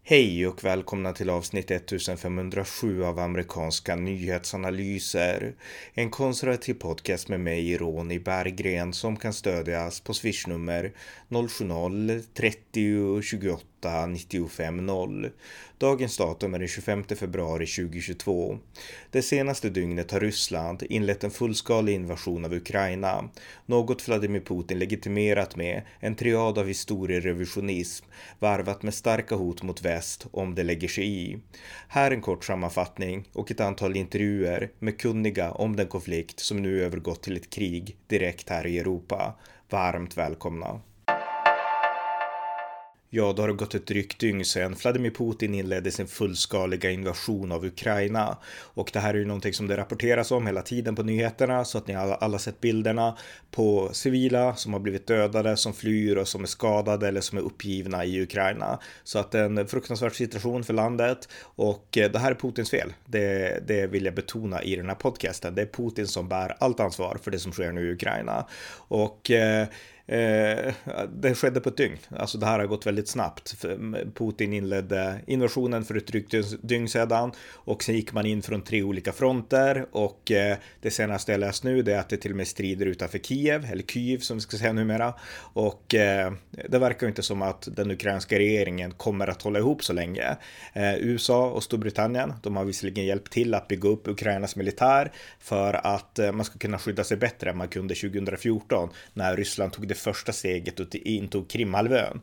Hej och välkomna till avsnitt 1507 av amerikanska nyhetsanalyser. En konservativ podcast med mig, Ronny Berggren, som kan stödjas på swishnummer 070-30 28 95 0. Dagens datum är den 25 februari 2022. Det senaste dygnet har Ryssland inlett en fullskalig invasion av Ukraina. Något Vladimir Putin legitimerat med en triad av historierevisionism varvat med starka hot mot väst om det lägger sig i. Här en kort sammanfattning och ett antal intervjuer med kunniga om den konflikt som nu övergått till ett krig direkt här i Europa. Varmt välkomna! Ja, då har det gått ett drygt dygn sedan Vladimir Putin inledde sin fullskaliga invasion av Ukraina. Och det här är ju någonting som det rapporteras om hela tiden på nyheterna, så att ni alla sett bilderna på civila som har blivit dödade, som flyr och som är skadade eller som är uppgivna i Ukraina. Så att det är en fruktansvärd situation för landet, och det här är Putins fel. Det vill jag betona i den här podcasten. Det är Putin som bär allt ansvar för det som sker nu i Ukraina. Och det skedde på ett dygn. Alltså det här har gått väldigt snabbt. Putin inledde invasionen för ett drygt dygn sedan, och sen gick man in från 3 olika fronter, och det senaste jag läst nu är att det till och med strider utanför Kiev, eller Kyiv som vi ska säga numera, och det verkar inte som att den ukrainska regeringen kommer att hålla ihop så länge. USA och Storbritannien, de har visserligen hjälpt till att bygga upp Ukrainas militär för att man ska kunna skydda sig bättre än man kunde 2014 när Ryssland tog det första steget och intog Krimhalvön.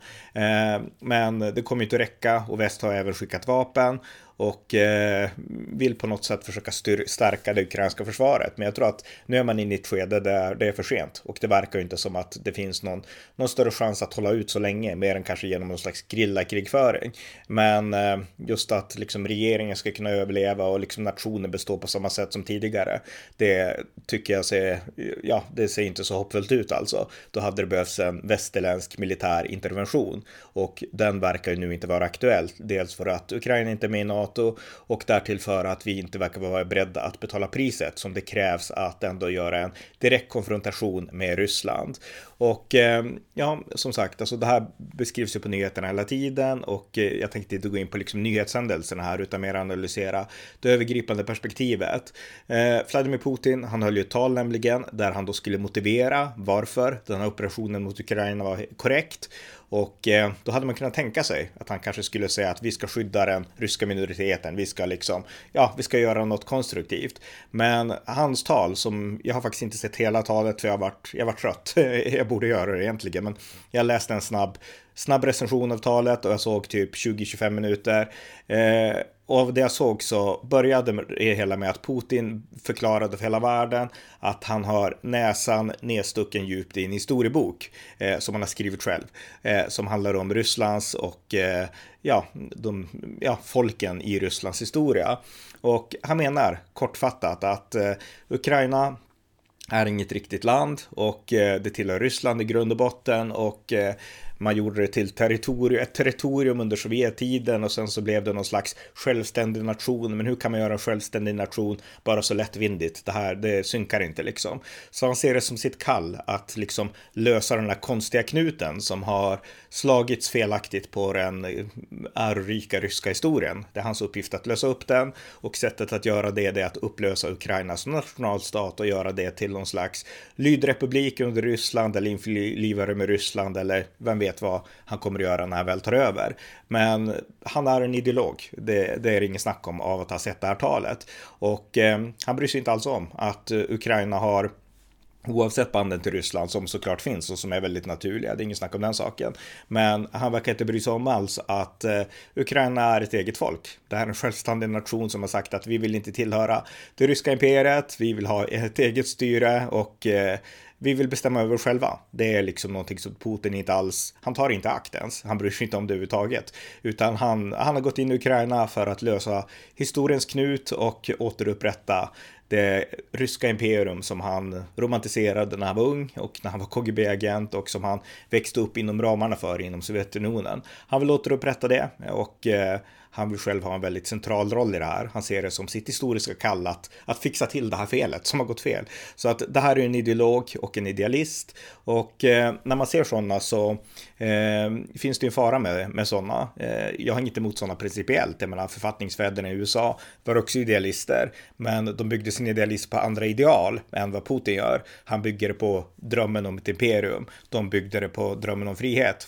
Men det kommer inte att räcka, och väst har även skickat vapen och vill på något sätt försöka stärka det ukrainska försvaret. Men jag tror att nu är man inne i ett skede där det är för sent, och det verkar ju inte som att det finns någon större chans att hålla ut så länge, mer än kanske genom någon slags grilla-krigföring. Men just att liksom regeringen ska kunna överleva och liksom nationen bestå på samma sätt som tidigare, det tycker jag det ser inte så hoppfullt ut alltså. Då hade det behövts en västerländsk militär intervention, och den verkar ju nu inte vara aktuell. Dels för att Ukraina inte är med i NATO, och därtill för att vi inte verkar vara beredda att betala priset som det krävs att ändå göra en direkt konfrontation med Ryssland. Och som sagt, alltså det här beskrivs ju på nyheterna hela tiden, och jag tänkte inte gå in på liksom nyhetshändelserna här utan mer analysera det övergripande perspektivet. Vladimir Putin, han höll ju ett tal nämligen där han då skulle motivera varför den här operationen mot Ukraina var korrekt. Och då hade man kunnat tänka sig att han kanske skulle säga att vi ska skydda den ryska minoriteten, vi ska göra något konstruktivt. Men hans tal, som jag har faktiskt inte sett hela talet för jag var trött, jag borde göra det egentligen, men jag läste en snabb recension av talet och jag såg typ 20-25 minuter. Och av det jag såg så började det hela med att Putin förklarade för hela världen att han har näsan nedstucken djupt i en historiebok som han har skrivit själv, som handlar om Rysslands och folken i Rysslands historia. Och han menar kortfattat att Ukraina är inget riktigt land, och det tillhör Ryssland i grund och botten, och man gjorde det till ett territorium under Sovjettiden, och sen så blev det någon slags självständig nation. Men hur kan man göra en självständig nation bara så lättvindigt? Det synkar inte liksom. Så han ser det som sitt kall att liksom lösa den här konstiga knuten som har slagits felaktigt på den ärorika ryska historien. Det är hans uppgift att lösa upp den, och sättet att göra det är att upplösa Ukraina som nationalstat och göra det till någon slags lydrepublik under Ryssland, eller införlivare med Ryssland, eller vem vet vad han kommer att göra när han väl tar över. Men han är en ideolog, det är ingen snack om av att ha sett det här talet. Och han bryr sig inte alls om att Ukraina har, oavsett banden till Ryssland som såklart finns och som är väldigt naturliga, det är ingen snack om den saken, men han verkar inte bry sig om alls att Ukraina är ett eget folk. Det här är en självständig nation som har sagt att vi vill inte tillhöra det ryska imperiet, vi vill ha ett eget styre, och vi vill bestämma över själva. Det är liksom någonting som Putin inte alls, han tar inte akt ens, han bryr sig inte om det överhuvudtaget, utan han har gått in i Ukraina för att lösa historiens knut och återupprätta det ryska imperium som han romantiserade när han var ung och när han var KGB-agent, och som han växte upp inom ramarna för inom Sovjetunionen. Han vill återupprätta det, och han vill själv ha en väldigt central roll i det här. Han ser det som sitt historiska kall att fixa till det här felet som har gått fel. Så att det här är en ideolog och en idealist, och när man ser sådana så finns det en fara med sådana. Jag har inget emot sådana principiellt. Jag menar, författningsfäderna i USA var också idealister, men de byggde sin idealism på andra ideal än vad Putin gör. Han bygger det på drömmen om ett imperium. De byggde det på drömmen om frihet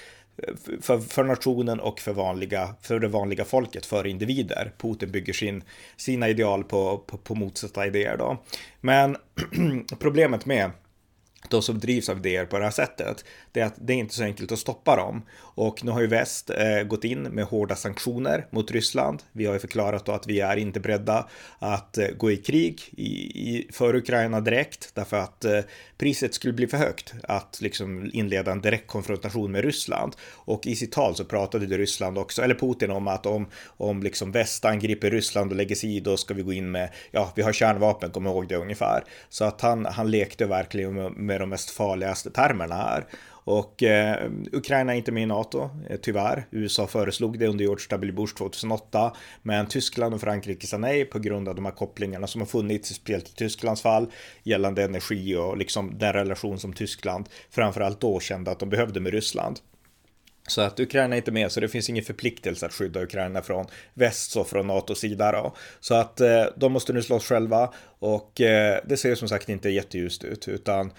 för nationen och för det vanliga folket, för individer. Putin bygger sina ideal på motsatta idéer då. Men problemet med de som drivs av idéer på det här sättet, det är att det är inte så enkelt att stoppa dem. Och nu har ju väst gått in med hårda sanktioner mot Ryssland. Vi har ju förklarat då att vi är inte beredda att gå i krig för Ukraina direkt, därför att priset skulle bli för högt att liksom inleda en direkt konfrontation med Ryssland. Och i sitt tal så pratade Ryssland också, eller Putin, om att om liksom väst angriper Ryssland och lägger sig i, då ska vi gå in med, vi har kärnvapen, kom ihåg det ungefär. Så att han lekte verkligen med de mest farligaste termerna här. Och Ukraina är inte med i NATO, tyvärr. USA föreslog det under George W. Bush 2008, men Tyskland och Frankrike sa nej på grund av de här kopplingarna som har funnits, speciellt i Tysklands fall, gällande energi och liksom den relation som Tyskland framförallt då kände att de behövde med Ryssland. Så att Ukraina är inte med, så det finns ingen förpliktelse att skydda Ukraina från väst och från NATOs sida då. Så att de måste nu slåss själva, och det ser som sagt inte jätteljust ut, utan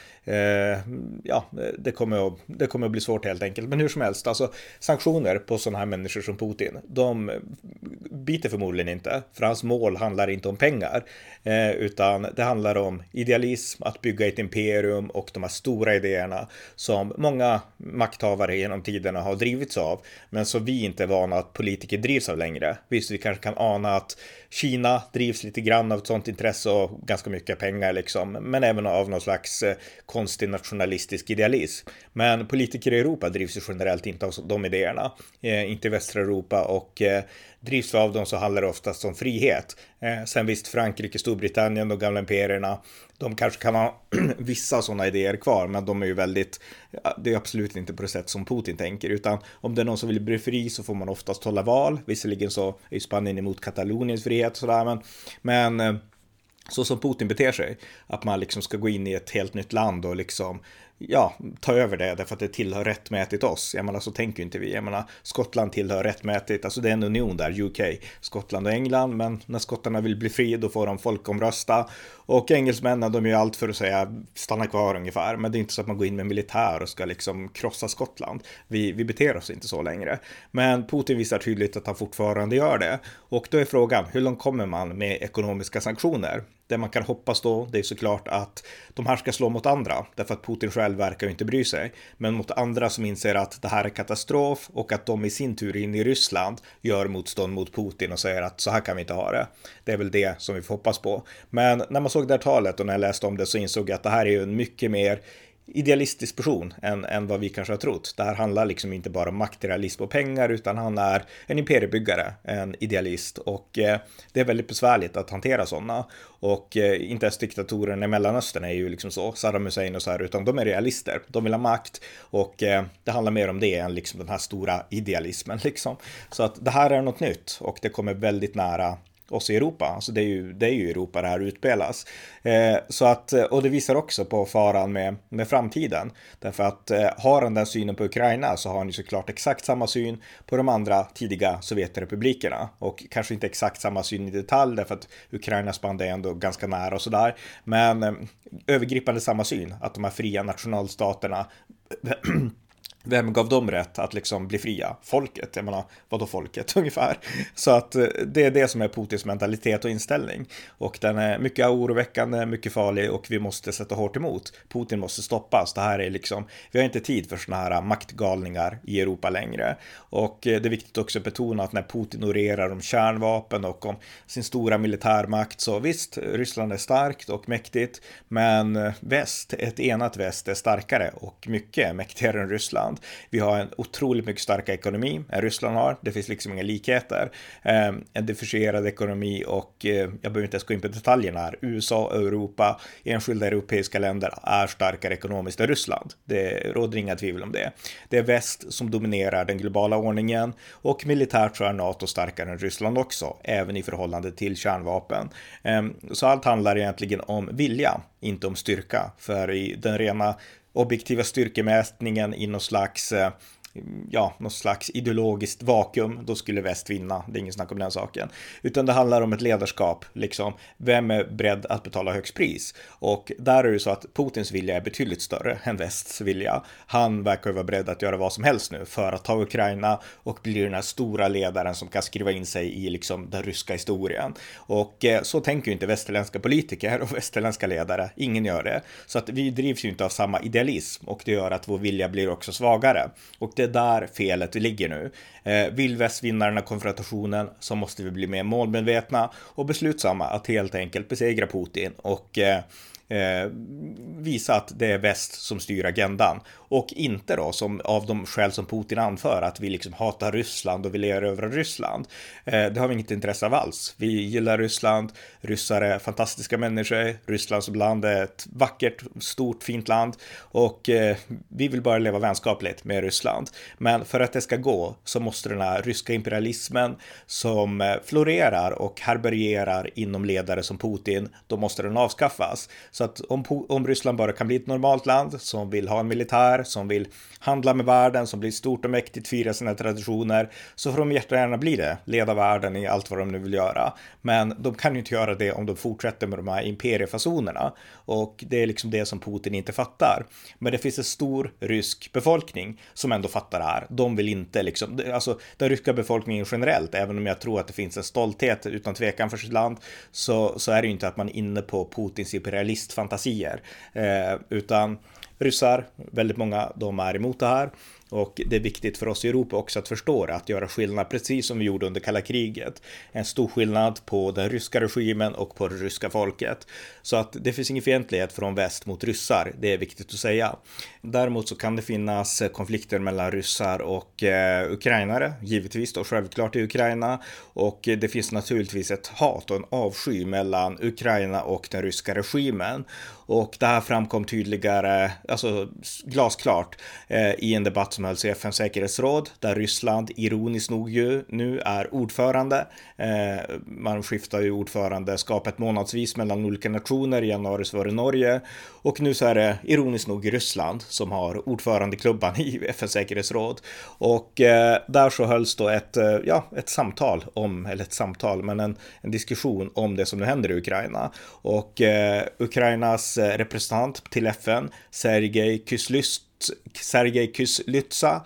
det kommer att bli svårt helt enkelt. Men hur som helst, alltså sanktioner på sådana här människor som Putin, de biter förmodligen inte, för hans mål handlar inte om pengar, utan det handlar om idealism, att bygga ett imperium och de här stora idéerna som många makthavare genom tiderna har drivits av, men som vi inte är vana att politiker drivs av längre. Visst, vi kanske kan ana att Kina drivs lite grann av ett sånt intresse och ganska mycket pengar liksom, men även av någon slags konstig nationalistisk idealism. Men politiker i Europa drivs ju generellt inte av de idéerna, inte i västra Europa, och drivs av dem så handlar det oftast om frihet. Sen visst, Frankrike, Storbritannien, de gamla imperierna, de kanske kan ha vissa sådana idéer kvar, men de är ju det är absolut inte på det sätt som Putin tänker, utan om det är någon som vill bli fri så får man oftast hålla val. Visserligen så är ju Spanien emot Kataloniens frihet och sådär, men så som Putin beter sig, att man liksom ska gå in i ett helt nytt land och liksom ta över det därför att det tillhör rättmätigt oss. Jag menar, så tänker inte vi. Jag menar, Skottland tillhör rättmätigt, alltså det är en union där, UK, Skottland och England, men när skottarna vill bli fri då får de folkomrösta, och engelsmännen, de gör allt för att säga stanna kvar ungefär, men det är inte så att man går in med militär och ska liksom krossa Skottland. Vi beter oss inte så längre, men Putin visar tydligt att han fortfarande gör det, och då är frågan, hur långt kommer man med ekonomiska sanktioner? Det man kan hoppas då, det är såklart att de här ska slå mot andra, därför att Putin själv verkar ju inte bry sig, men mot andra som inser att det här är katastrof, och att de i sin tur in i Ryssland gör motstånd mot Putin och säger att så här kan vi inte ha det. Det är väl det som vi får hoppas på. Men när man såg det här talet och när jag läste om det, så insåg jag att det här är ju en mycket mer idealistisk person än vad vi kanske har trott. Det här handlar liksom inte bara om materialism och pengar, utan han är en imperiebyggare, en idealist, och det är väldigt besvärligt att hantera sådana. Och inte ens diktatorerna i Mellanöstern är ju liksom så, Saddam Hussein och så här, utan de är realister. De vill ha makt, och det handlar mer om det än liksom den här stora idealismen liksom. Så att det här är något nytt, och det kommer väldigt nära oss i Europa. Alltså det är ju Europa det här utspelas. Så att, och det visar också på faran med framtiden. Därför att har han den synen på Ukraina, så har han ju såklart exakt samma syn på de andra tidiga Sovjetrepublikerna. Och kanske inte exakt samma syn i detalj, därför att Ukrainas band är ändå ganska nära och sådär. Men övergripande samma syn, att de här fria nationalstaterna vem gav dem rätt att liksom bli fria? Folket, jag menar, vadå folket ungefär? Så att det är det som är Putins mentalitet och inställning. Och den är mycket oroväckande, mycket farlig, och vi måste sätta hårt emot. Putin måste stoppas. Det här är liksom, vi har inte tid för såna här maktgalningar i Europa längre. Och det är viktigt också att betona att när Putin orerar om kärnvapen och om sin stora militärmakt, så visst, Ryssland är starkt och mäktigt, men väst, ett enat väst är starkare och mycket mäktigare än Ryssland. Ryssland. Vi har en otroligt mycket starkare ekonomi än Ryssland har. Det finns liksom inga likheter. En differentierad ekonomi och jag behöver inte ens gå in på detaljerna här. USA, Europa, enskilda europeiska länder är starkare ekonomiskt än Ryssland. Det råder inga tvivel om det. Det är väst som dominerar den globala ordningen och militärt så är NATO starkare än Ryssland också, även i förhållande till kärnvapen. Så allt handlar egentligen om vilja, inte om styrka. För i den rena objektiva styrkemätningen i något slags ideologiskt vakuum, då skulle väst vinna. Det är ingen snack om den saken. Utan det handlar om ett ledarskap, liksom. Vem är beredd att betala högst pris? Och där är det så att Putins vilja är betydligt större än västs vilja. Han verkar ju vara beredd att göra vad som helst nu för att ta Ukraina och bli den här stora ledaren som kan skriva in sig i liksom den ryska historien. Och så tänker ju inte västerländska politiker och västerländska ledare. Ingen gör det. Så att vi drivs ju inte av samma idealism och det gör att vår vilja blir också svagare. Och det är där felet ligger nu. Vill väst vinna den här konfrontationen så måste vi bli mer målmedvetna och beslutsamma att helt enkelt besegra Putin och visa att det är väst som styr agendan och inte då som av de skäl som Putin anför att vi liksom hatar Ryssland och vill erövra Ryssland. Det har vi inget intresse av alls. Vi gillar Ryssland, ryssar är fantastiska människor, Ryssland som land är ett vackert, stort, fint land och vi vill bara leva vänskapligt med Ryssland. Men för att det ska gå så måste den här ryska imperialismen som florerar och härbärgerar inom ledare som Putin, då måste den avskaffas. Så att om Ryssland bara kan bli ett normalt land som vill ha en militär, som vill handla med världen, som blir stort och mäktigt, fira sina traditioner, så får de jättegärna bli det, leda världen i allt vad de nu vill göra. Men de kan ju inte göra det om de fortsätter med de här imperiefasonerna. Och det är liksom det som Putin inte fattar. Men det finns en stor rysk befolkning som ändå fattar det här. De vill inte liksom, alltså den ryska befolkningen generellt, även om jag tror att det finns en stolthet utan tvekan för sitt land, så är det ju inte att man är inne på Putins imperialistfantasier. Utan ryssar, väldigt många, de är emot det här. Och det är viktigt för oss i Europa också att förstå det, att göra skillnad precis som vi gjorde under kalla kriget. En stor skillnad på den ryska regimen och på det ryska folket. Så att det finns ingen fientlighet från väst mot ryssar, det är viktigt att säga. Däremot så kan det finnas konflikter mellan ryssar och ukrainare, givetvis då självklart i Ukraina. Och det finns naturligtvis ett hat och en avsky mellan Ukraina och den ryska regimen. Och det här framkom tydligare, alltså glasklart, i en debatt som hölls i FN:s säkerhetsråd, där Ryssland ironiskt nog ju nu är ordförande. Man skiftar ju ordförandeskapet månadsvis mellan olika nationer. I januari så var det Norge och nu så är det ironiskt nog Ryssland som har ordförandeklubban i FN:s säkerhetsråd. Och där så hölls då ett samtal om, eller ett samtal, men en diskussion om det som nu händer i Ukraina. Och Ukrainas representant till FN, Sergej Kyslytsja,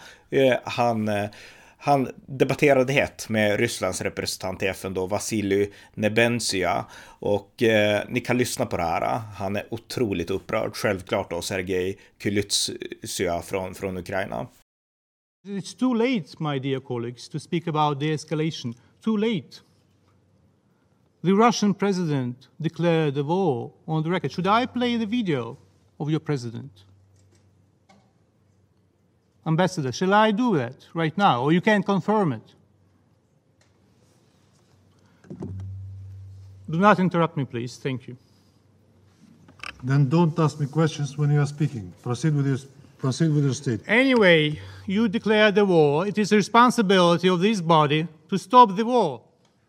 han debatterade hett med Rysslands representant i FN då, Vasily Nebenzia, och ni kan lyssna på det här. Han är otroligt upprörd, självklart då, Sergej Kyslytsja från Ukraina. It's too late, my dear colleagues, to speak about de-escalation. Too late. The Russian president declared a war on the record. Should I play the video of your president? Ambassador, shall I do that right now, or you can confirm it? Do not interrupt me, please. Thank you. Then don't ask me questions when you are speaking. Proceed with your statement. Anyway, you declared the war. It is the responsibility of this body to stop the war.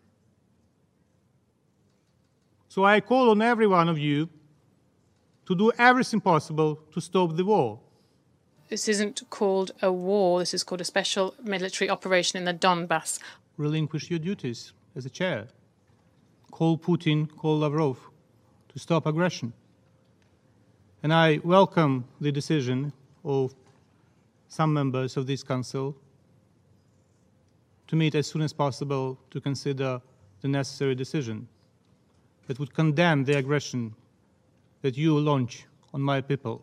So I call on every one of you to do everything possible to stop the war. This isn't called a war. This is called a special military operation in the Donbass. Relinquish your duties as a chair. Call Putin, call Lavrov to stop aggression. And I welcome the decision of some members of this council to meet as soon as possible to consider the necessary decision that would condemn the aggression that you launch on my people.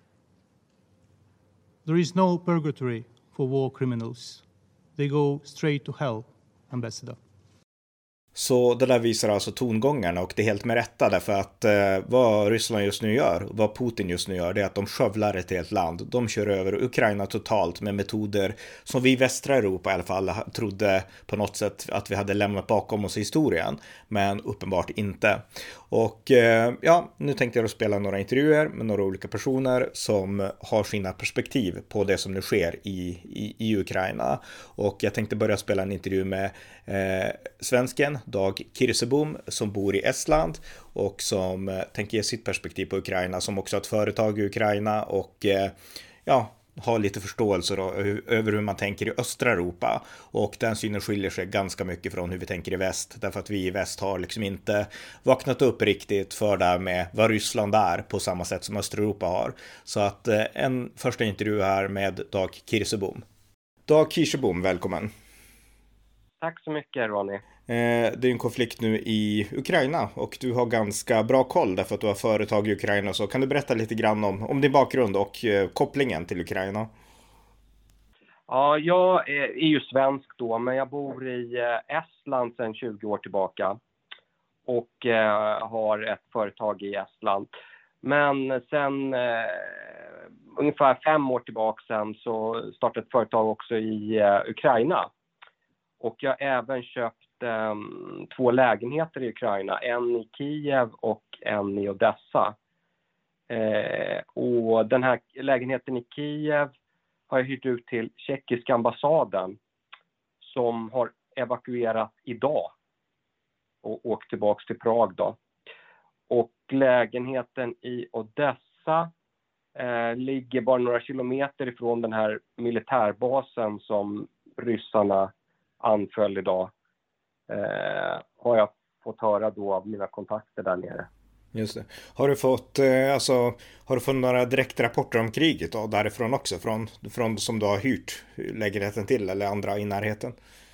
There is no purgatory for war criminals. They go straight to hell, Ambassador. Så det där visar alltså tongångarna, och det är helt med rätta, därför att vad Ryssland just nu gör, vad Putin just nu gör, det är att de skövlar ett helt land. De kör över Ukraina totalt med metoder som vi i västra Europa i alla fall trodde på något sätt att vi hade lämnat bakom oss i historien, men uppenbart inte. Och ja, nu tänkte jag spela några intervjuer med några olika personer som har sina perspektiv på det som nu sker i Ukraina. Och jag tänkte börja spela en intervju med svensken Dag Kirsebom som bor i Estland och som tänker ge sitt perspektiv på Ukraina, som också har ett företag i Ukraina och ja, har lite förståelse då, över hur man tänker i östra Europa, och den synen skiljer sig ganska mycket från hur vi tänker i väst, därför att vi i väst har liksom inte vaknat upp riktigt för det här med vad Ryssland är på samma sätt som östra Europa har. Så att en första intervju här med Dag Kirsebom. Dag Kirsebom, välkommen. Tack så mycket, Ronny. Det är en konflikt nu i Ukraina och du har ganska bra koll därför att du har företag i Ukraina. Så kan du berätta lite grann om din bakgrund och kopplingen till Ukraina? Ja, jag är ju svensk då, men jag bor i Estland sedan 20 år tillbaka och har ett företag i Estland. Men sen ungefär 5 år tillbaka sen så startade ett företag också i Ukraina. Och jag har även köpt 2 lägenheter i Ukraina. En i Kiev och en i Odessa. Och den här lägenheten i Kiev har jag hyrt ut till tjeckiska ambassaden. Som har evakuerat idag. Och åkt tillbaka till Prag då. Och lägenheten i Odessa ligger bara några kilometer ifrån den här militärbasen som ryssarna anföll idag, har jag fått höra då av mina kontakter där nere. Just det. Har du fått några direktrapporter om kriget då, därifrån också, från som du har hyrt lägenheten till eller andra i närheten?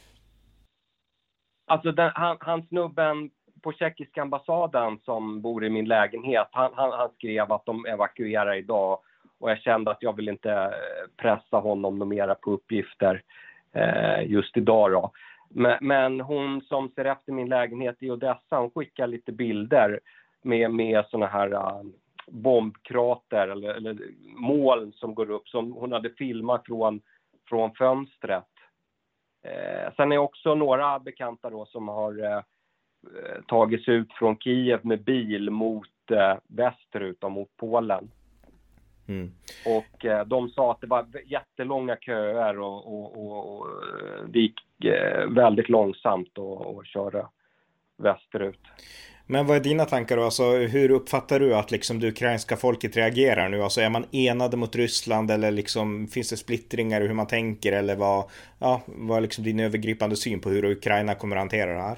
Alltså han snubben på tjeckiska ambassaden som bor i min lägenhet, han skrev att de evakuerar idag, och jag kände att jag vill inte pressa honom något mera på uppgifter just idag då. Men hon som ser efter min lägenhet i Odessa, hon skickar lite bilder med såna här bombkrater eller moln som går upp, som hon hade filmat från fönstret. Sen är också några bekanta då som har tagits ut från Kiev med bil mot västerut och mot Polen. Mm. Och de sa att det var jättelånga köer och det gick väldigt långsamt att köra västerut. Men vad är dina tankar då? Alltså, hur uppfattar du att liksom det ukrainska folket reagerar nu? Alltså, är man enade mot Ryssland eller liksom, finns det splittringar i hur man tänker? Eller vad är liksom din övergripande syn på hur Ukraina kommer att hantera det här?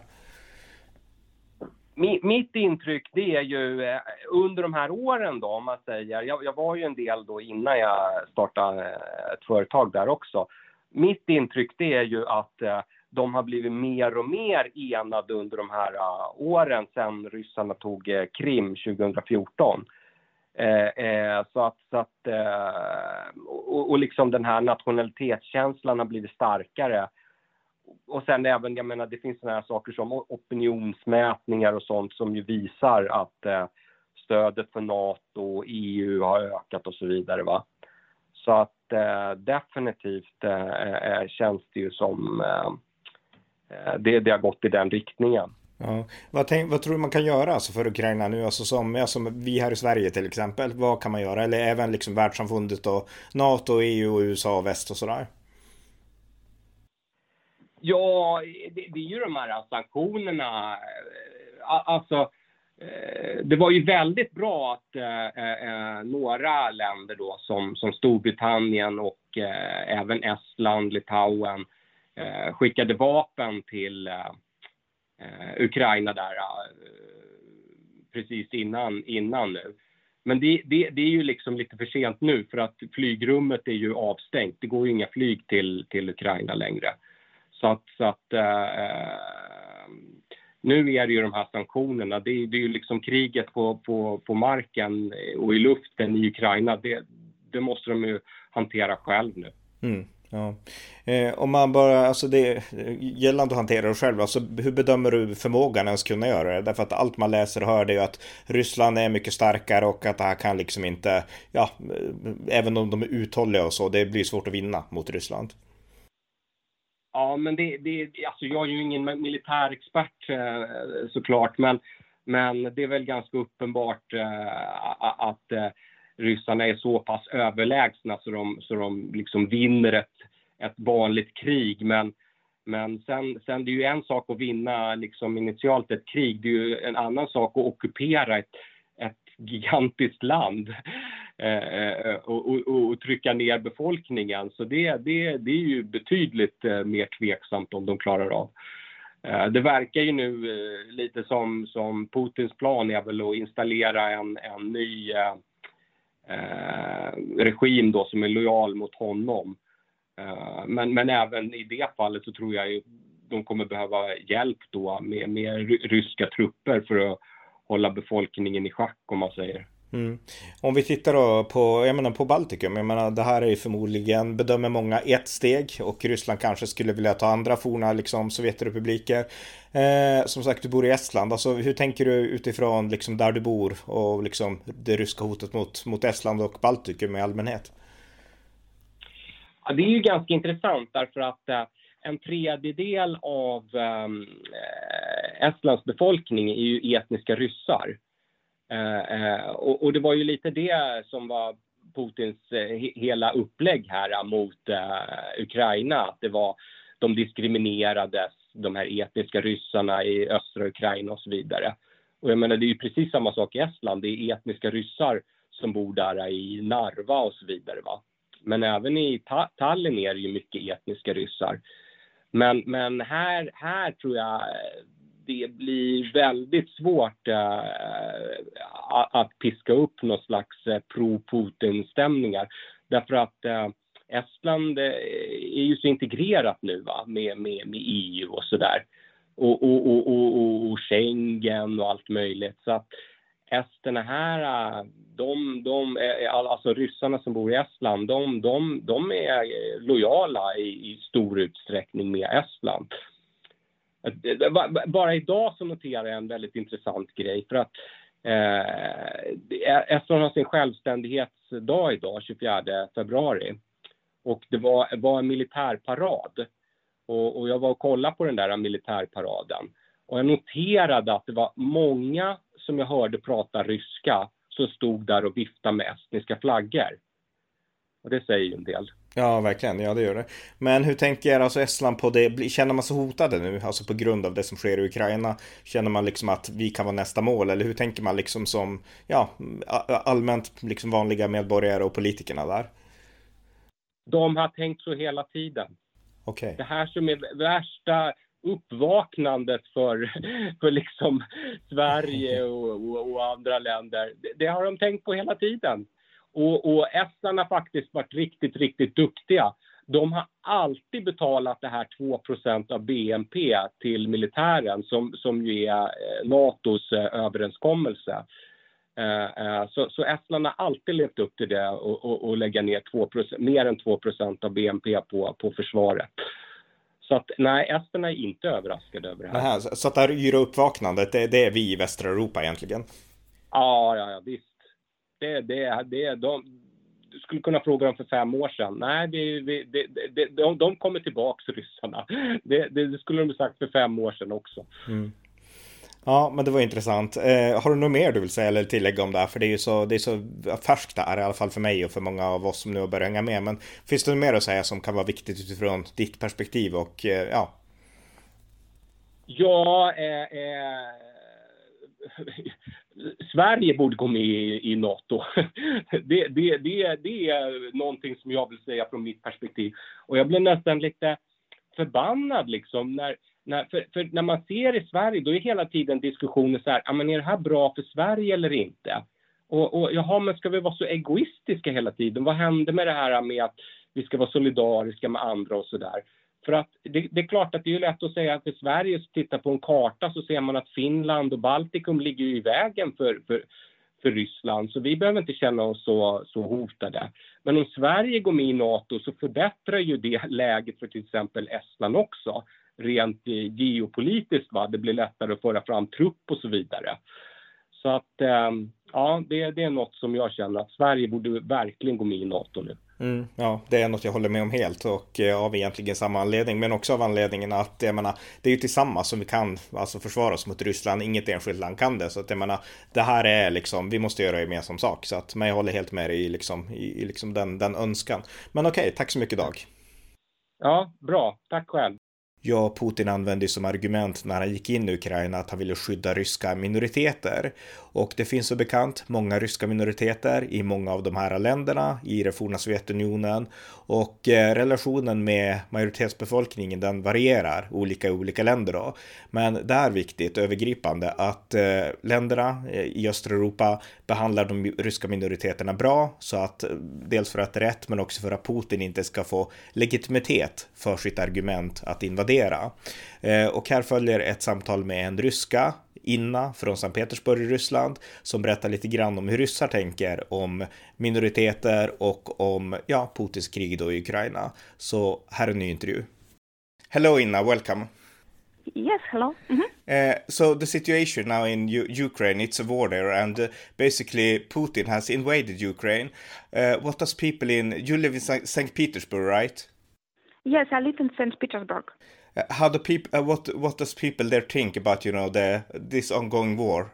Mitt intryck, det är ju under de här åren då, om man säger, jag var ju en del då innan jag startade ett företag där också. Mitt intryck, det är ju att de har blivit mer och mer enade under de här åren sedan ryssarna tog Krim 2014. Och liksom den här nationalitetskänslan har blivit starkare. Och sen även, jag menar, det finns såna här saker som opinionsmätningar och sånt som ju visar att stödet för NATO och EU har ökat och så vidare, va. Så att definitivt känns det ju som det har gått i den riktningen. Ja. Vad tror du man kan göra alltså för Ukraina nu? Alltså som vi här i Sverige till exempel. Vad kan man göra? Eller även liksom världssamfundet och NATO, EU och USA och väst och sådär? Ja, det är ju de här sanktionerna. Alltså, det var ju väldigt bra att några länder då som Storbritannien och även Estland, Litauen skickade vapen till Ukraina där precis innan nu. Men det är ju liksom lite för sent nu, för att flygrummet är ju avstängt. Det går ju inga flyg till Ukraina längre. Så att nu är det ju de här sanktionerna. Det är ju liksom kriget på marken och i luften i Ukraina. Det måste de ju hantera själv nu. Mm. Ja. Om man bara, alltså det gällande att hantera det själv, alltså hur bedömer du förmågan ens kunna göra det? Därför att allt man läser och hör det är ju att Ryssland är mycket starkare och att det här kan liksom inte, ja, även om de är uthålliga och så, det blir svårt att vinna mot Ryssland. Ja, men alltså jag är ju ingen militärexpert såklart, men det är väl ganska uppenbart att ryssarna är så pass överlägsna så de liksom vinner ett vanligt krig. Men sen det är ju en sak att vinna liksom initialt ett krig, det är ju en annan sak att ockupera ett gigantiskt land och trycka ner befolkningen. Så det är ju betydligt mer tveksamt om de klarar av. Det verkar ju nu lite som Putins plan är väl att installera en ny regim då som är lojal mot honom. Men även i det fallet så tror jag ju de kommer behöva hjälp då med ryska trupper för att hålla befolkningen i schack, om man säger. Mm. Om vi tittar då på Baltikum, jag menar det här är ju förmodligen, bedömer många, ett steg, och Ryssland kanske skulle vilja ta andra forna liksom Sovjetrepubliker. Som sagt, du bor i Estland, alltså hur tänker du utifrån liksom där du bor och liksom det ryska hotet mot Estland och Baltikum i allmänhet? Ja, det är ju ganska intressant därför att en tredjedel av Estlands befolkning är ju etniska ryssar. Och det var ju lite det som var Putins hela upplägg här mot Ukraina. Att det var, de diskriminerades, de här etniska ryssarna i östra Ukraina och så vidare. Och jag menar, det är ju precis samma sak i Estland. Det är etniska ryssar som bor där i Narva och så vidare, va. Men även i Tallinn är det ju mycket etniska ryssar. Men här tror jag det blir väldigt svårt att piska upp någon slags pro-Putin-stämningar. Därför att Estland är ju så integrerat nu, va, med EU och sådär. Och Schengen och allt möjligt. Så att esterna här, alltså ryssarna som bor i Estland, de är lojala i stor utsträckning med Estland. Bara idag så noterar jag en väldigt intressant grej, för att Estland har sin självständighetsdag idag, 24 februari. Och det var en militärparad. Och jag var och kollade på den där militärparaden. Och jag noterade att det var många som jag hörde prata ryska som stod där och viftade med estniska flaggor. Och det säger ju en del. Ja, verkligen. Ja, det gör det. Men hur tänker alltså Estland på det? Känner man sig hotade nu? Alltså på grund av det som sker i Ukraina? Känner man liksom att vi kan vara nästa mål? Eller hur tänker man liksom som, ja, allmänt liksom vanliga medborgare och politikerna där? De har tänkt så hela tiden. Okay. Det här som är värsta uppvaknandet för liksom Sverige och andra länder. Det har de tänkt på hela tiden. Och Estland har faktiskt varit riktigt, riktigt duktiga. De har alltid betalat det här 2% av BNP till militären som ju är NATOs överenskommelse. Så Estland har alltid levt upp till det och lägga ner mer än 2% av BNP på försvaret. Så att nej, esterna är inte överraskade över det här. Nähä, så att det här yra uppvaknandet, det är vi i västra Europa egentligen? Ja, visst. Du skulle kunna fråga dem för 5 år sedan. Nej, de kommer tillbaka, ryssarna. Det skulle de ha sagt för 5 år sedan också. Mm. Ja, men det var intressant. Har du något mer du vill säga eller tillägga om det här? För det är så färskt där, i alla fall för mig och för många av oss som nu har börjat hänga med. Men finns det något mer att säga som kan vara viktigt utifrån ditt perspektiv? Och ja. Sverige borde gå med i NATO. Det är någonting som jag vill säga från mitt perspektiv. Och jag blev nästan lite förbannad liksom för när man ser i Sverige, då är hela tiden diskussioner så här, men är det här bra för Sverige eller inte? Och jaha, men ska vi vara så egoistiska hela tiden? Vad händer med det här med att vi ska vara solidariska med andra och sådär? För att det är klart att det är lätt att säga att för Sverige, så tittar på en karta så ser man att Finland och Baltikum ligger i vägen för Ryssland, så vi behöver inte känna oss så hotade. Men om Sverige går med i NATO så förbättrar ju det läget för till exempel Estland också, rent geopolitiskt. Det blir lättare att föra fram trupp och så vidare. Så att det är något som jag känner att Sverige borde verkligen gå med i NATO nu. Ja, det är något jag håller med om helt, och av egentligen samma anledning, men också av anledningen att jag menar, det är ju tillsammans som vi kan alltså försvara oss mot Ryssland. Inget enskilt land kan det, så att jag menar, det här är liksom, vi måste göra gemensam sak, så att, men jag håller helt med dig i den önskan. Men okej, tack så mycket Dag. Ja, bra. Tack själv. Ja, Putin använde som argument när han gick in i Ukraina att han ville skydda ryska minoriteter. Och det finns så bekant många ryska minoriteter i många av de här länderna i det forna Sovjetunionen. Och relationen med majoritetsbefolkningen, den varierar i olika länder då. Men det är viktigt övergripande att länderna i östra Europa behandlar de ryska minoriteterna bra, så att dels för att det är rätt, men också för att Putin inte ska få legitimitet för sitt argument att invadera. Och här följer ett samtal med en ryska, Inna från Sankt Petersburg i Ryssland, som berättar lite grann om hur ryssar tänker om minoriteter och om Putins krig då i Ukraina. Så här är en ny intervju. Hello Inna, welcome. Yes, hello. So the situation now in Ukraine, it's a war there, and basically Putin has invaded Ukraine. What does people you live in St. Petersburg, right? Yes, I live in St. Petersburg. How the people? What does people there think about this ongoing war?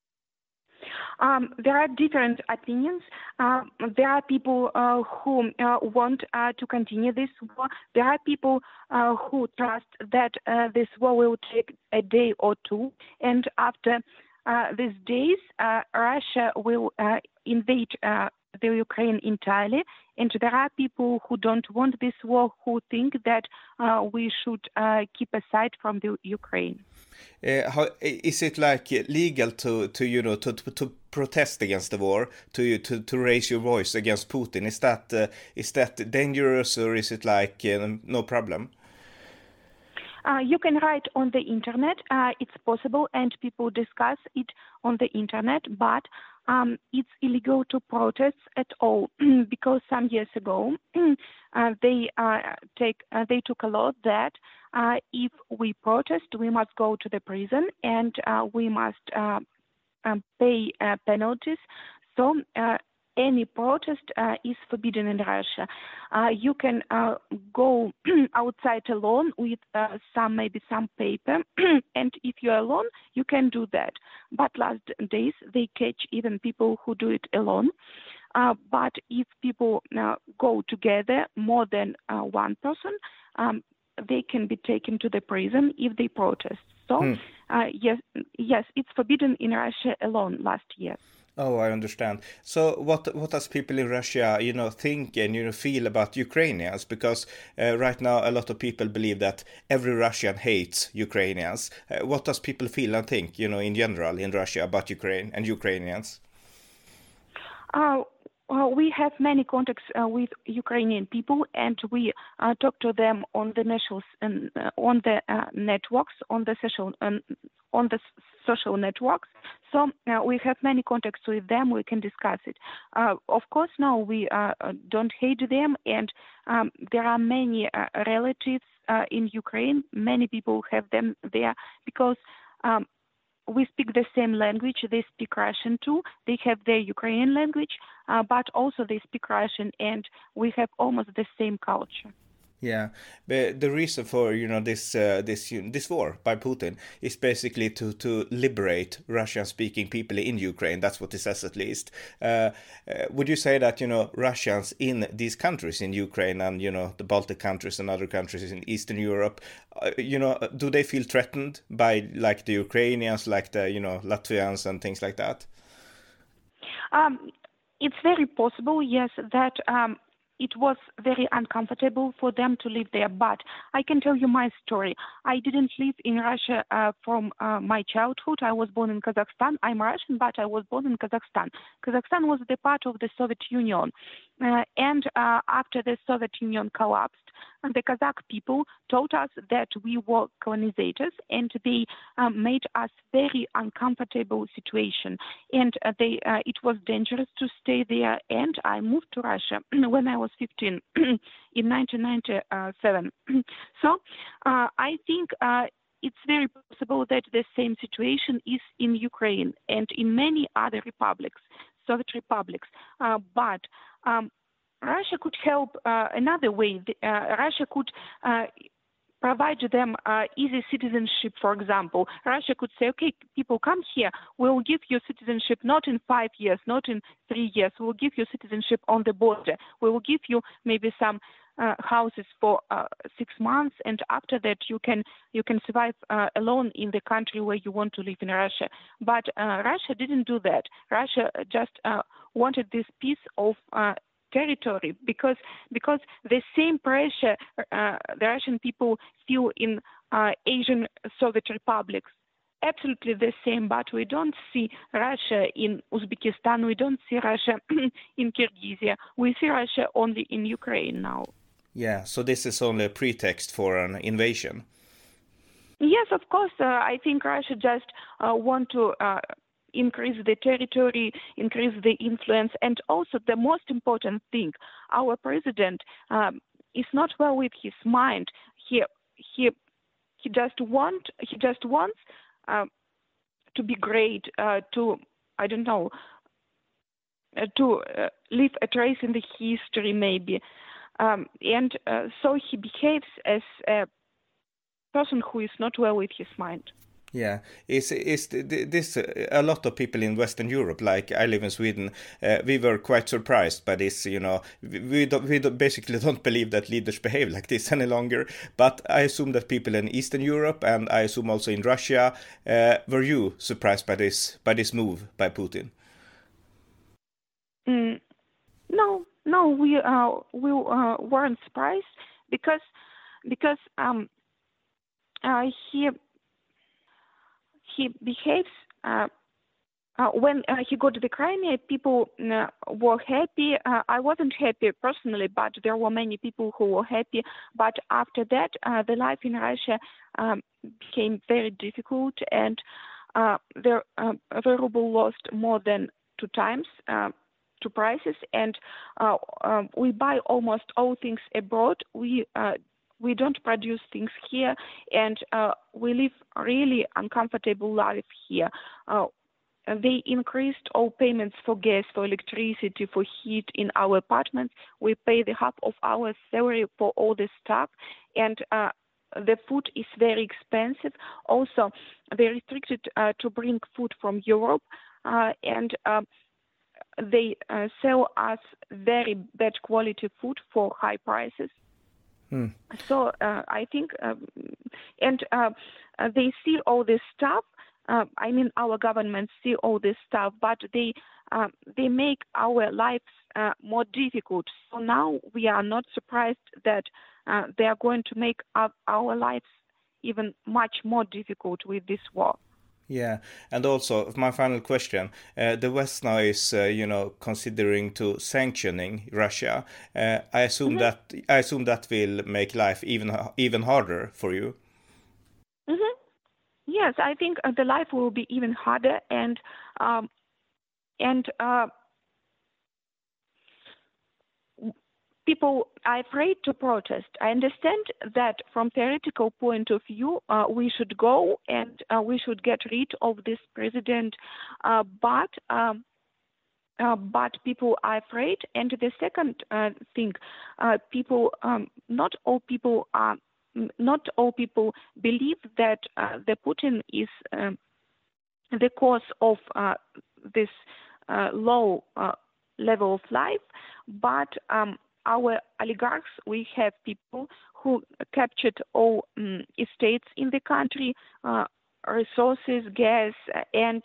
There are different opinions. There are people who want to continue this war. There are people who trust that this war will take a day or two, and after these days, Russia will invade the Ukraine entirely. And there are people who don't want this war, who think that we should keep aside from the Ukraine. Is it like legal to protest against the war, to raise your voice against Putin? Is that dangerous, or is it like no problem? You can write on the internet. It's possible, and people discuss it on the internet, but it's illegal to protest at all because some years ago they took a law that if we protest, we must go to the prison and we must pay penalties. So any protest is forbidden in Russia. You can go outside alone with maybe some paper, and if you're alone, you can do that. But last days they catch even people who do it alone. But if people go together, more than one person, they can be taken to the prison if they protest. So yes, it's forbidden in Russia alone last year. Oh, I understand. So what does people in Russia, think and, feel about Ukrainians? Because right now a lot of people believe that every Russian hates Ukrainians. What does people feel and think, in general in Russia about Ukraine and Ukrainians? We have many contacts with Ukrainian people, and we talk to them on the networks, on the social networks. So we have many contacts with them. We can discuss it. Of course, now we don't hate them, and there are many relatives in Ukraine. Many people have them there because we speak the same language. They speak Russian too. They have their Ukrainian language, but also they speak Russian, and we have almost the same culture. Yeah, but the reason for this war by Putin is basically to liberate Russian-speaking people in Ukraine. That's what it says, at least. Would you say that Russians in these countries in Ukraine and the Baltic countries and other countries in Eastern Europe, do they feel threatened by like the Ukrainians, like the Latvians and things like that? It's very possible, yes, that it was very uncomfortable for them to live there. But I can tell you my story. I didn't live in Russia from my childhood. I was born in Kazakhstan. I'm Russian, but I was born in Kazakhstan. Kazakhstan was the part of the Soviet Union. And after the Soviet Union collapsed, the Kazakh people told us that we were colonizers, and they made us very uncomfortable situation. And it was dangerous to stay there. And I moved to Russia when I was 15 in 1997. So I think it's very possible that the same situation is in Ukraine and in many other republics, Soviet republics. But Russia could help another way. Russia could provide them easy citizenship, for example. Russia could say, okay, people come here, we'll give you citizenship not in 5 years, not in 3 years, we'll give you citizenship on the border. We will give you maybe some houses for 6 months, and after that you can survive alone in the country where you want to live in Russia. But Russia didn't do that. Russia just wanted this piece of territory because the same pressure the Russian people feel in Asian Soviet republics. Absolutely the same, but we don't see Russia in Uzbekistan, we don't see Russia in Kyrgyzstan, we see Russia only in Ukraine now. Yeah, so this is only a pretext for an invasion. Yes, of course. I think Russia just want to increase the territory, increase the influence, and also the most important thing, our president is not well with his mind. He just wants to be great, to leave a trace in the history maybe, and so he behaves as a person who is not well with his mind. Yeah, is this a lot of people in Western Europe, like I live in Sweden, we were quite surprised by this, you know, we basically don't believe that leaders behave like this any longer, but I assume that people in Eastern Europe, and I assume also in Russia, were you surprised by this move by Putin? No, we weren't surprised because he behaves when he got to the Crimea, people were happy. I wasn't happy personally, but there were many people who were happy. But after that, the life in Russia became very difficult, and the ruble lost more than 2 times to prices, and we buy almost all things abroad. We don't produce things here, and we live really uncomfortable life here. They increased all payments for gas, for electricity, for heat in our apartments. We pay the half of our salary for all this stuff, and the food is very expensive. Also, they restricted to bring food from Europe, and they sell us very bad quality food for high prices. So I think, and they see all this stuff. I mean, our government see all this stuff, but they make our lives more difficult. So now we are not surprised that they are going to make our lives even much more difficult with this war. Yeah, and also my final question: the West now is, considering to sanctioning Russia. I assume that will make life even harder for you. Yes, I think the life will be even harder, and people are afraid to protest. I understand that from theoretical point of view, we should go and we should get rid of this president, but people are afraid. And the second thing, not all people believe that the Putin is the cause of this low level of life, but our oligarchs, we have people who captured all estates in the country, resources, gas, and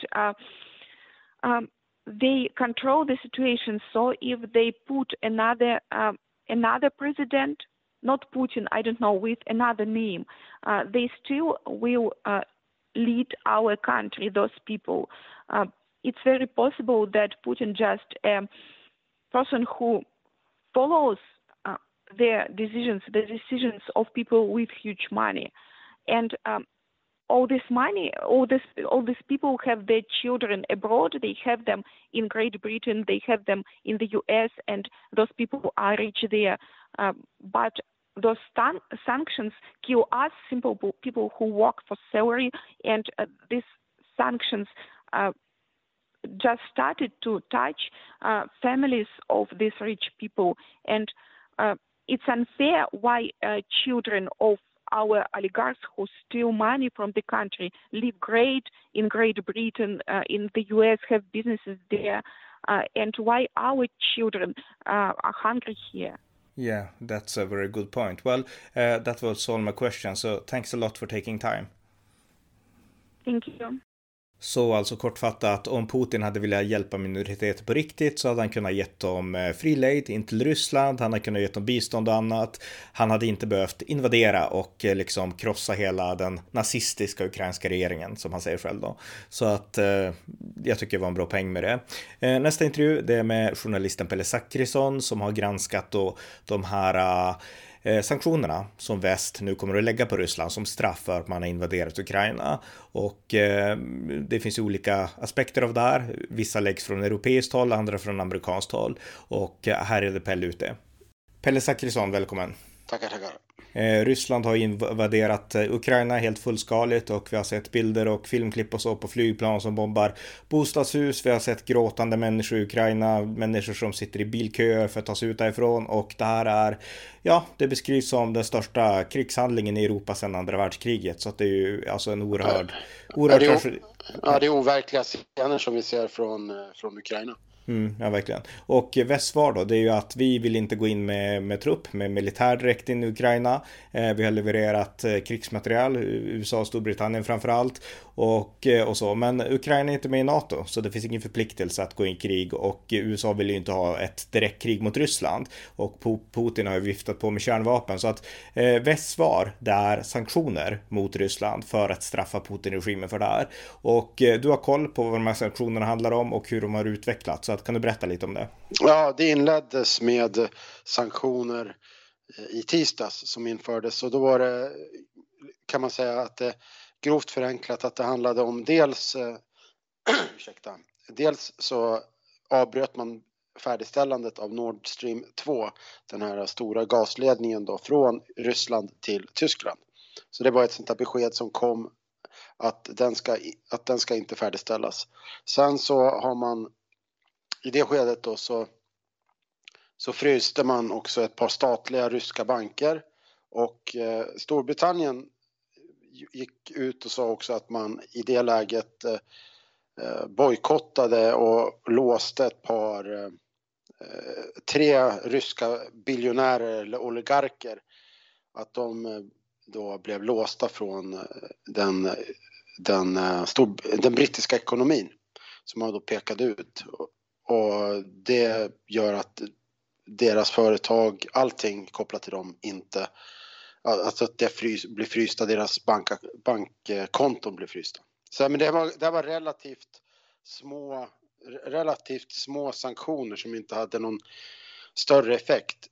they control the situation. So if they put another another president, not Putin, I don't know, with another name, they still will lead our country, those people. It's very possible that Putin just a person who follows the decisions of people with huge money. And all this money, all these people have their children abroad. They have them in Great Britain. They have them in the U.S. And those people are rich there. But those sanctions kill us, simple people who work for salary. And these sanctions just started to touch families of these rich people. And it's unfair why children of our oligarchs who steal money from the country live great in Great Britain, in the US, have businesses there, and why our children are hungry here. Yeah, that's a very good point. Well, that was all my questions, so thanks a lot for taking time. Thank you. Så alltså kortfattat, om Putin hade velat hjälpa minoriteter på riktigt så hade han kunnat gett dem fri lejd in till Ryssland, han hade kunnat gett dem bistånd och annat. Han hade inte behövt invadera och liksom krossa hela den nazistiska ukrainska regeringen, som han säger själv då. Så att jag tycker det var en bra poäng med det. Nästa intervju, det är med journalisten Pelle Zackrisson som har granskat då de här sanktionerna som väst nu kommer att lägga på Ryssland som straff för att man har invaderat Ukraina. Och det finns ju olika aspekter av det här. Vissa läggs från europeiskt håll, andra från amerikanskt håll. Och här är det Pelle ute. Pelle Zackrisson, välkommen. Tackar. Ryssland har invaderat Ukraina helt fullskaligt och vi har sett bilder och filmklipp och så på flygplan som bombar bostadshus. Vi har sett gråtande människor i Ukraina, människor som sitter i bilköer för att ta sig ut därifrån, och det här är, ja, det beskrivs som den största krigshandlingen i Europa sedan andra världskriget, så att det är ju alltså en oerhörd det är overkliga scener som vi ser från Ukraina. Ja, verkligen. Och västsvar då, det är ju att vi vill inte gå in med trupp, med militär direkt in i Ukraina. Vi har levererat krigsmaterial, USA och Storbritannien framförallt, och så. Men Ukraina är inte med i NATO, så det finns ingen förpliktelse att gå in i krig, och USA vill ju inte ha ett direkt krig mot Ryssland, och Putin har ju viftat på med kärnvapen, så att västsvar, det är sanktioner mot Ryssland för att straffa Putin-regimen för det här. Och du har koll på vad de här sanktionerna handlar om och hur de har utvecklats. Så att, kan du berätta lite om det? Ja, det inleddes med sanktioner i tisdags som infördes, och då var det, kan man säga att det grovt förenklat, att det handlade om dels dels så avbröt man färdigställandet av Nord Stream 2, den här stora gasledningen då från Ryssland till Tyskland. Så det var ett sånt här besked som kom att den ska inte färdigställas. Sen så har man i det skedet då så fryste man också ett par statliga ryska banker, och Storbritannien gick ut och sa också att man i det läget bojkottade och låste tre ryska biljonärer eller oligarker, att de då blev låsta från den brittiska ekonomin som man då pekade ut. Och det gör att deras företag, allting kopplat till dem, inte, alltså att det blir frysta, deras bankkonton blir frysta. Så men det var relativt små sanktioner som inte hade någon större effekt.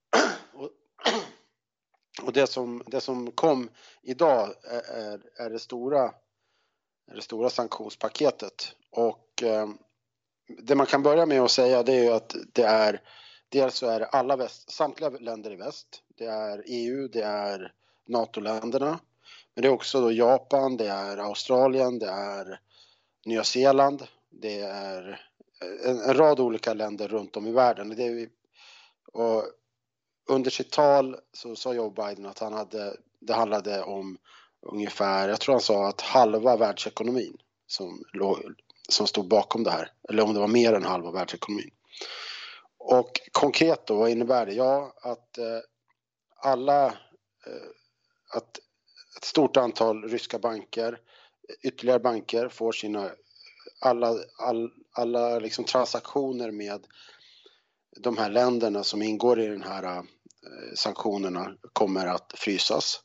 Och det som kom idag är det stora sanktionspaketet, och det man kan börja med att säga, det är ju att dels så är det samtliga länder i väst, det är EU, det är NATO-länderna, men det är också då Japan, det är Australien, det är Nya Zeeland, det är en rad olika länder runt om i världen. Och under sitt tal så sa Joe Biden att det handlade om ungefär, jag tror han sa att halva världsekonomin som stod bakom det här, eller om det var mer än halva världsekonomin. Och konkret då, vad innebär det? Ja, att ett stort antal ryska banker, ytterligare banker, får sina alla liksom transaktioner de här länderna som ingår i den här sanktionerna kommer att frysas.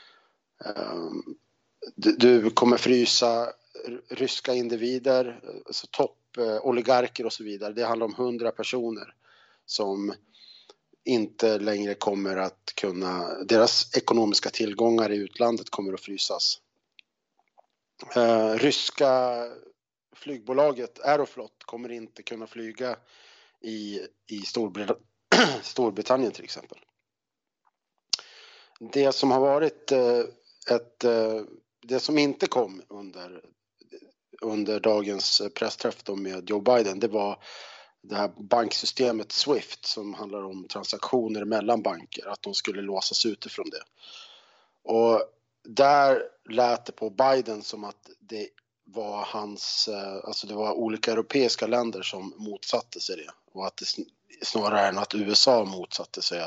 Du kommer frysa ryska individer, alltså toppoligarker och så vidare. Det handlar om 100 personer som inte längre kommer att kunna, deras ekonomiska tillgångar i utlandet kommer att frysas. Ryska flygbolaget Aeroflot kommer inte kunna flyga i Storbritannien till exempel. Det som har varit det som inte kom under dagens pressträff då med Joe Biden, det var det här banksystemet Swift som handlar om transaktioner mellan banker, att de skulle låsas utifrån det. Och där lät det på Biden som att det var alltså det var olika europeiska länder som motsatte sig det, och att det snarare än att USA motsatte sig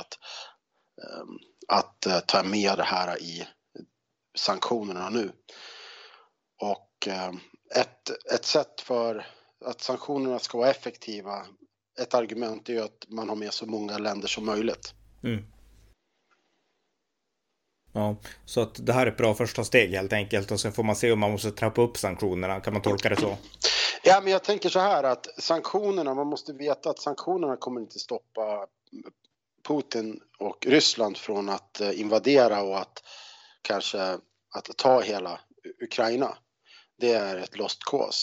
att ta med det här i sanktionerna nu. Och ett sätt för att sanktionerna ska vara effektiva, ett argument är ju att man har med så många länder som möjligt. Mm. Ja, så att det här är ett bra första steg helt enkelt, och sen får man se om man måste trappa upp sanktionerna. Kan man tolka det så? Ja, men jag tänker så här att sanktionerna, man måste veta att sanktionerna kommer inte stoppa Putin och Ryssland från att invadera och att kanske att ta hela Ukraina. Det är ett lost cause.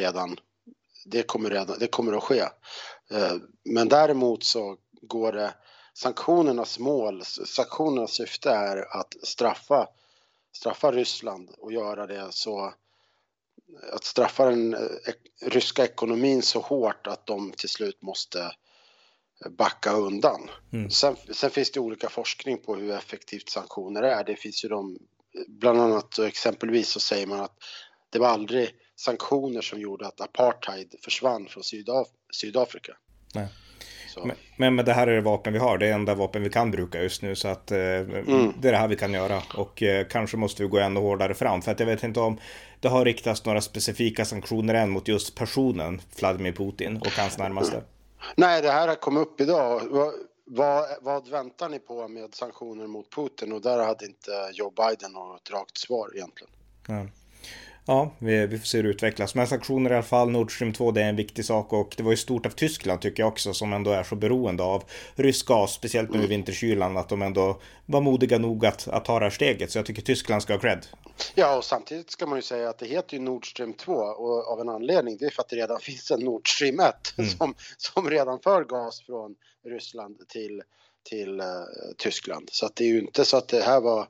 Det kommer att ske. Men däremot så går det, sanktionernas syfte är att straffa Ryssland och göra det så, att straffa den ryska ekonomin så hårt att de till slut måste backa undan. Mm. Sen finns det olika forskning på hur effektivt sanktioner är. Det finns ju bland annat exempelvis så säger man att det var aldrig sanktioner som gjorde att apartheid försvann från Sydafrika. Nej. Men det här är det vapen vi har. Det är enda vapen vi kan bruka just nu. Så att det är det här vi kan göra. Och kanske måste vi gå ännu hårdare fram. För att jag vet inte om det har riktats några specifika sanktioner än mot just personen Vladimir Putin och hans närmaste. Nej, det här har kommit upp idag. Vad väntar ni på med sanktioner mot Putin? Och där hade inte Joe Biden något rakt svar egentligen. Ja, vi får se hur det utvecklas. Men sanktioner i alla fall, Nord Stream 2, det är en viktig sak. Och det var ju stort av Tyskland tycker jag också, som ändå är så beroende av rysk gas, speciellt nu i vinterkylan, att de ändå var modiga nog att ta det här steget. Så jag tycker Tyskland ska ha cred. Ja, och samtidigt ska man ju säga att det heter ju Nord Stream 2 och av en anledning. Det är för att det redan finns en Nord Stream 1 som redan för gas från Ryssland till Tyskland. Så att det är ju inte så att det här var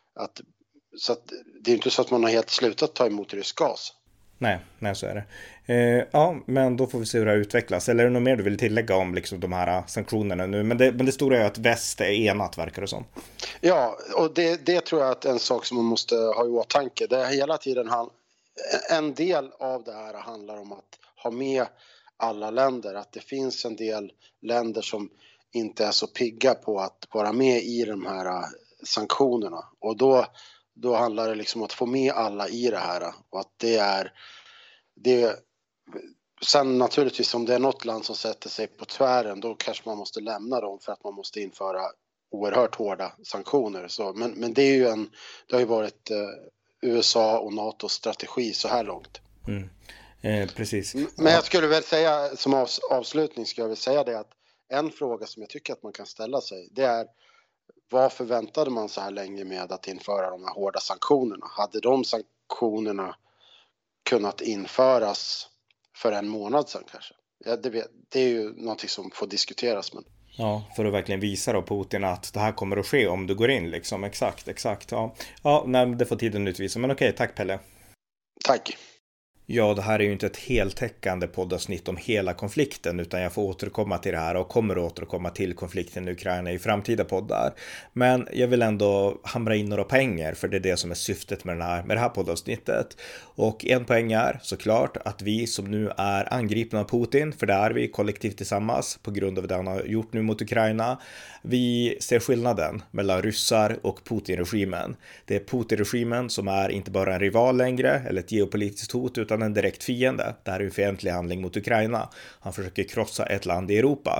så att det är inte så att man har helt slutat ta emot rysk gas. Nej, så är det. Ja, men då får vi se hur det här utvecklas. Eller är det något mer du vill tillägga om liksom de här sanktionerna nu? Men det stora är att väst är enat, verkar det som. Ja, och det tror jag att en sak som man måste ha i åtanke. Det är hela tiden en del av det här handlar om att ha med alla länder. Att det finns en del länder som inte är så pigga på att vara med i de här sanktionerna. Och då handlar det liksom om att få med alla i det här, och att det sen naturligtvis om det är något land som sätter sig på tvären, då kanske man måste lämna dem för att man måste införa oerhört hårda sanktioner. Så, men det är ju det har ju varit USA och NATOs strategi så här långt. Precis. Men jag skulle väl säga som avslutning skulle jag väl säga det att en fråga som jag tycker att man kan ställa sig, det är: varför väntade man så här länge med att införa de här hårda sanktionerna? Hade de sanktionerna kunnat införas för en månad sedan kanske? Ja, det är ju någonting som får diskuteras. Men... Ja, för att verkligen visa då Putin att det här kommer att ske om du går in liksom. Exakt. Ja, nej, det får tiden utvisa. Men okej, tack Pelle. Tack. Ja, det här är ju inte ett heltäckande poddavsnitt om hela konflikten, utan jag får återkomma till det här och kommer att återkomma till konflikten i Ukraina i framtida poddar. Men jag vill ändå hamra in några poänger, för det är det som är syftet med det här poddavsnittet. Och en poäng är såklart att vi som nu är angripna av Putin, för det är vi kollektivt tillsammans på grund av det han har gjort nu mot Ukraina, vi ser skillnaden mellan ryssar och Putin-regimen. Det är Putin-regimen som är inte bara en rival längre eller ett geopolitiskt hot, utan en direkt fiende. Det här är en fientlig handling mot Ukraina. Han försöker krossa ett land i Europa.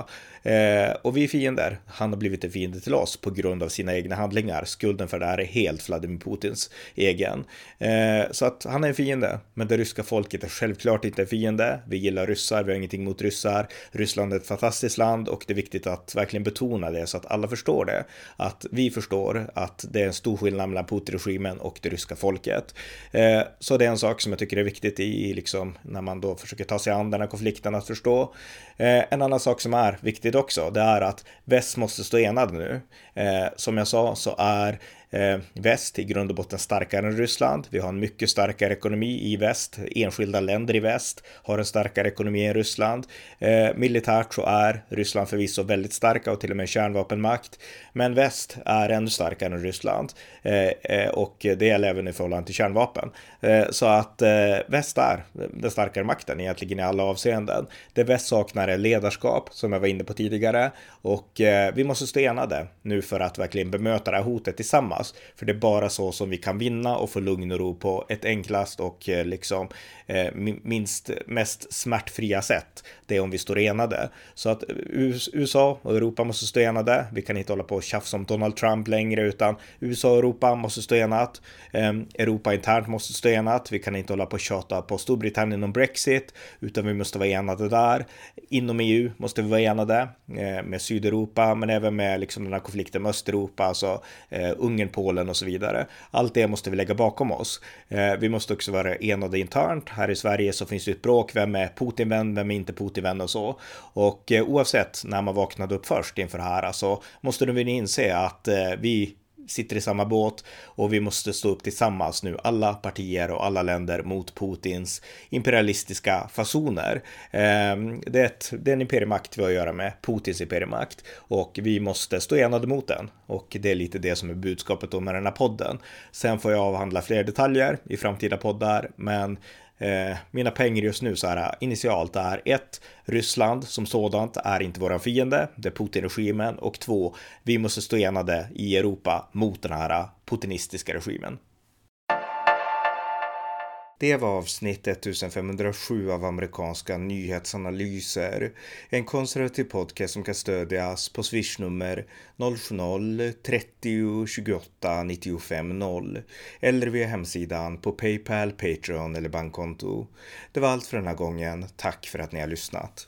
Och vi är fiender. Han har blivit en fiende till oss på grund av sina egna handlingar. Skulden för det här är helt Vladimir Putins egen. Så att han är en fiende. Men det ryska folket är självklart inte en fiende. Vi gillar ryssar, vi har ingenting mot ryssar. Ryssland är ett fantastiskt land och det är viktigt att verkligen betona det så att alla förstår det. Att vi förstår att det är en stor skillnad mellan Putin-regimen och det ryska folket. Så det är en sak som jag tycker är viktigt i liksom, när man då försöker ta sig an den här konflikten att förstå. En annan sak som är viktigt också, det är att väst måste stå enad nu. Som jag sa så är väst i grund och botten starkare än Ryssland. Vi har en mycket starkare ekonomi i väst. Enskilda länder i väst har en starkare ekonomi än Ryssland. Militärt så är Ryssland förvisso väldigt starka och till och med kärnvapenmakt. Men väst är ännu starkare än Ryssland. Och det gäller även i förhållande till kärnvapen. Så att väst är den starkare makten egentligen i alla avseenden. Det väst saknar är ledarskap som jag var inne på tidigare. Och vi måste stå enade nu för att verkligen bemöta det här hotet tillsammans. För det är bara så som vi kan vinna och få lugn och ro på ett enklast och liksom mest smärtfria sätt. Det är om vi står enade. Så att USA och Europa måste stå enade. Vi kan inte hålla på och tjafsa om Donald Trump längre utan USA och Europa måste stå enat. Europa internt måste stå enat. Vi kan inte hålla på och tjata på Storbritannien om Brexit utan vi måste vara enade där. Inom EU måste vi vara enade med Sydeuropa men även med liksom den här konflikten med Östeuropa, alltså Ungern, Polen och så vidare. Allt det måste vi lägga bakom oss. Vi måste också vara enade internt. Här i Sverige så finns det ett bråk. Vem är Putin-vän? Vem är inte Putin-vän och så. Och oavsett när man vaknade upp först inför det här så måste vi inse att vi sitter i samma båt och vi måste stå upp tillsammans nu, alla partier och alla länder mot Putins imperialistiska fasoner. Det är en imperiemakt vi har att göra med, Putins imperiemakt, och vi måste stå enade mot den och det är lite det som är budskapet då med den här podden. Sen får jag avhandla fler detaljer i framtida poddar, men mina pengar just nu så här initialt är 1. Ryssland som sådant är inte våran fiende, det är Putin-regimen, och 2. Vi måste stå enade i Europa mot den här putinistiska regimen. Det var avsnitt 1507 av amerikanska nyhetsanalyser. En konservativ podcast som kan stödjas på swishnummer 070-30 28 95 0 eller via hemsidan på PayPal, Patreon eller bankkonto. Det var allt för den här gången. Tack för att ni har lyssnat.